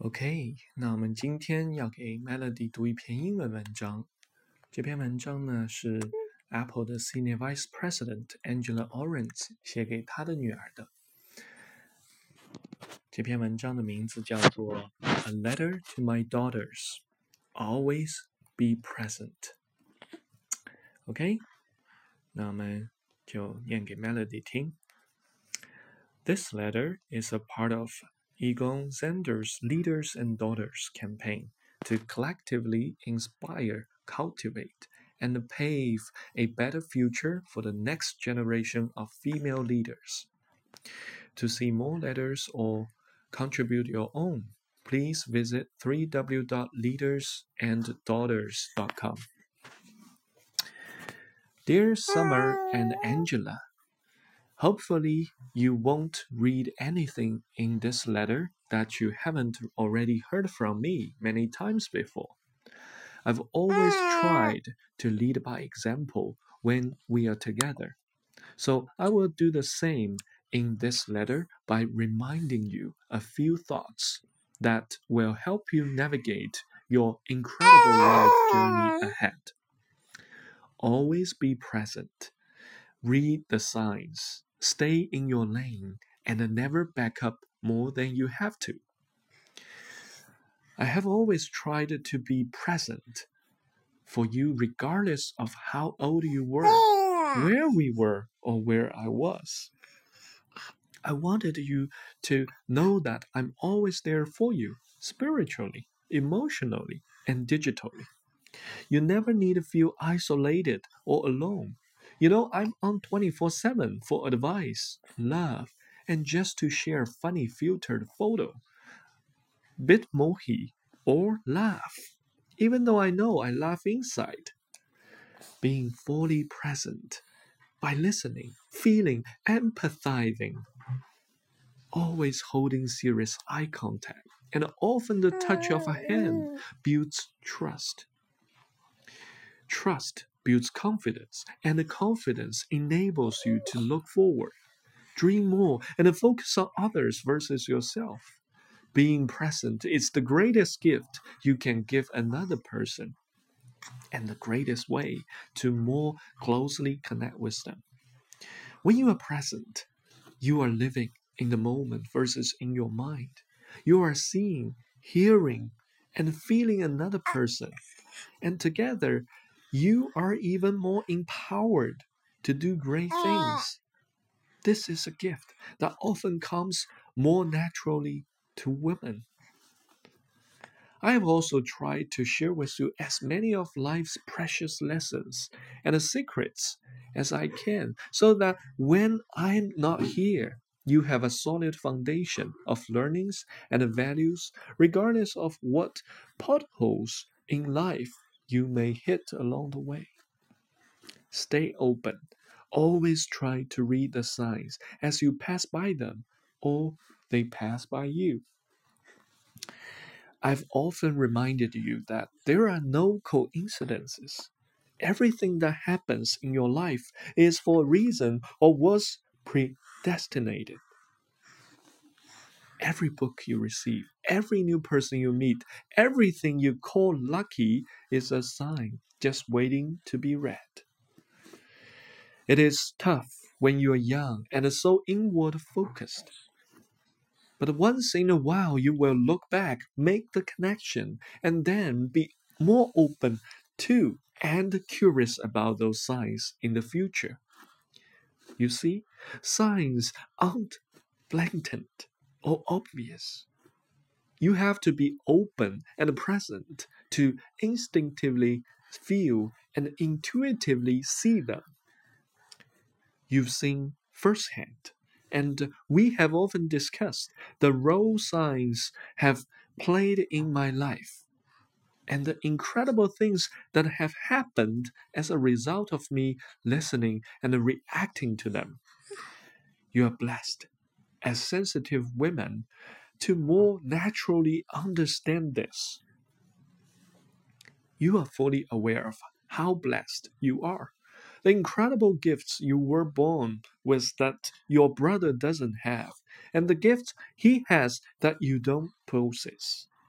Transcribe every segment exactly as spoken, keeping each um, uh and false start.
OK， 那我们今天要给 Melody 读一篇英文文章。这篇文章呢是 Apple 的 Senior Vice President Angela Orange 写给她的女儿的。这篇文章的名字叫做 A Letter to My Daughters. Always be present. OK， 那我们就念给 Melody 听。This letter is a part of Egon Zender's Leaders and Daughters campaign to collectively inspire, cultivate, and pave a better future for the next generation of female leaders. To see more letters or contribute your own, please visit w w w dot leaders and daughters dot com. Dear Summer and Angela,Hopefully, you won't read anything in this letter that you haven't already heard from me many times before. I've always tried to lead by example when we are together. So I will do the same in this letter by reminding you a few thoughts that will help you navigate your incredible life journey ahead. Always be present. Read the signs.Stay in your lane and never back up more than you have to. I have always tried to be present for you regardless of how old you were, where we were, or where I was. I wanted you to know that I'm always there for you, spiritually, emotionally, and digitally. You never need to feel isolated or alone.You know, I'm on twenty-four seven for advice, love, and just to share funny filtered photo. Bitmoji or laugh, even though I know I laugh inside. Being fully present by listening, feeling, empathizing. Always holding serious eye contact and often the touch of a hand builds trust. Trust.Builds confidence, and the confidence enables you to look forward, dream more, and focus on others versus yourself. Being present is the greatest gift you can give another person, and the greatest way to more closely connect with them. When you are present, you are living in the moment versus in your mind. You are seeing, hearing, and feeling another person, and together,You are even more empowered to do great things. This is a gift that often comes more naturally to women. I have also tried to share with you as many of life's precious lessons and secrets as I can, so that when I'm not here, you have a solid foundation of learnings and values, regardless of what potholes in life,You may hit along the way. Stay open. Always try to read the signs as you pass by them, or they pass by you. I've often reminded you that there are no coincidences. Everything that happens in your life is for a reason or was predestinated. Every book you receive, every new person you meet, everything you call lucky is a sign just waiting to be read. It is tough when you are young and so inward focused. But once in a while you will look back, make the connection, and then be more open to and curious about those signs in the future. You see, signs aren't blatant.or obvious. You have to be open and present to instinctively feel and intuitively see them. You've seen firsthand, and we have often discussed the role signs have played in my life, and the incredible things that have happened as a result of me listening and reacting to them. You are blessed.As sensitive women, to more naturally understand this. You are fully aware of how blessed you are. The incredible gifts you were born with that your brother doesn't have, and the gifts he has that you don't possess.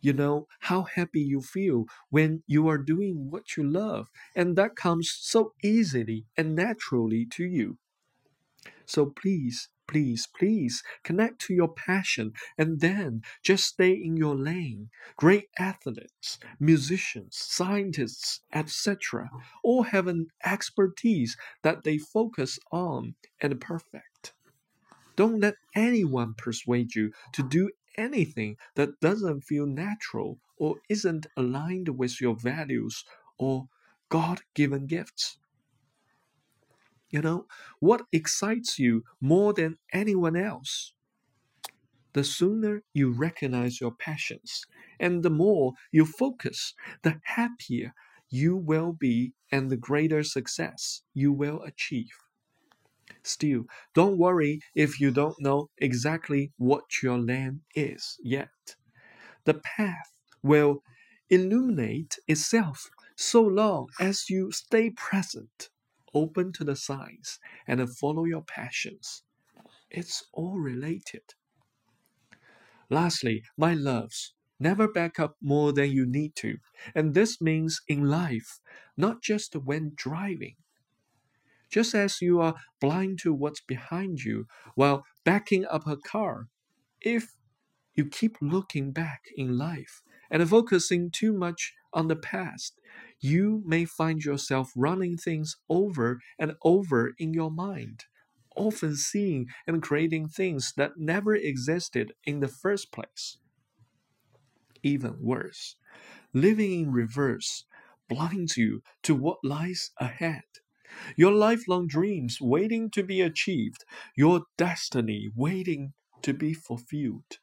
You know how happy you feel when you are doing what you love, and that comes so easily and naturally to you. So please, please, please connect to your passion and then just stay in your lane. Great athletes, musicians, scientists, et cetera all have an expertise that they focus on and perfect. Don't let anyone persuade you to do anything that doesn't feel natural or isn't aligned with your values or God given gifts. You know, what excites you more than anyone else? The sooner you recognize your passions and the more you focus, the happier you will be and the greater success you will achieve. Still, don't worry if you don't know exactly what your lane is yet. The path will illuminate itself so long as you stay present, open to the signs, and follow your passions. It's all related. Lastly, my loves, never back up more than you need to. And this means in life, not just when driving. Just as you are blind to what's behind you while backing up a car, if you keep looking back in life and focusing too much on the past, you may find yourself running things over and over in your mind, often seeing and creating things that never existed in the first place. Even worse, living in reverse blinds you to what lies ahead. Your lifelong dreams waiting to be achieved, your destiny waiting to be fulfilled.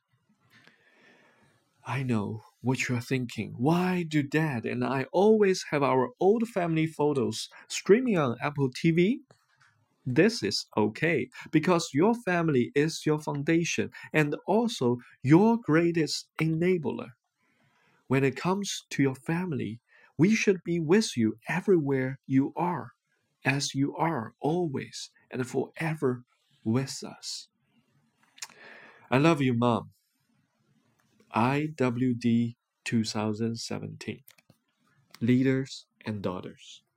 I know what you're thinking. Why do Dad and I always have our old family photos streaming on Apple T V? This is okay because your family is your foundation and also your greatest enabler. When it comes to your family, we should be with you everywhere you are, as you are always and forever with us. I love you, Mom. I W D twenty seventeen. Leaders and Daughters.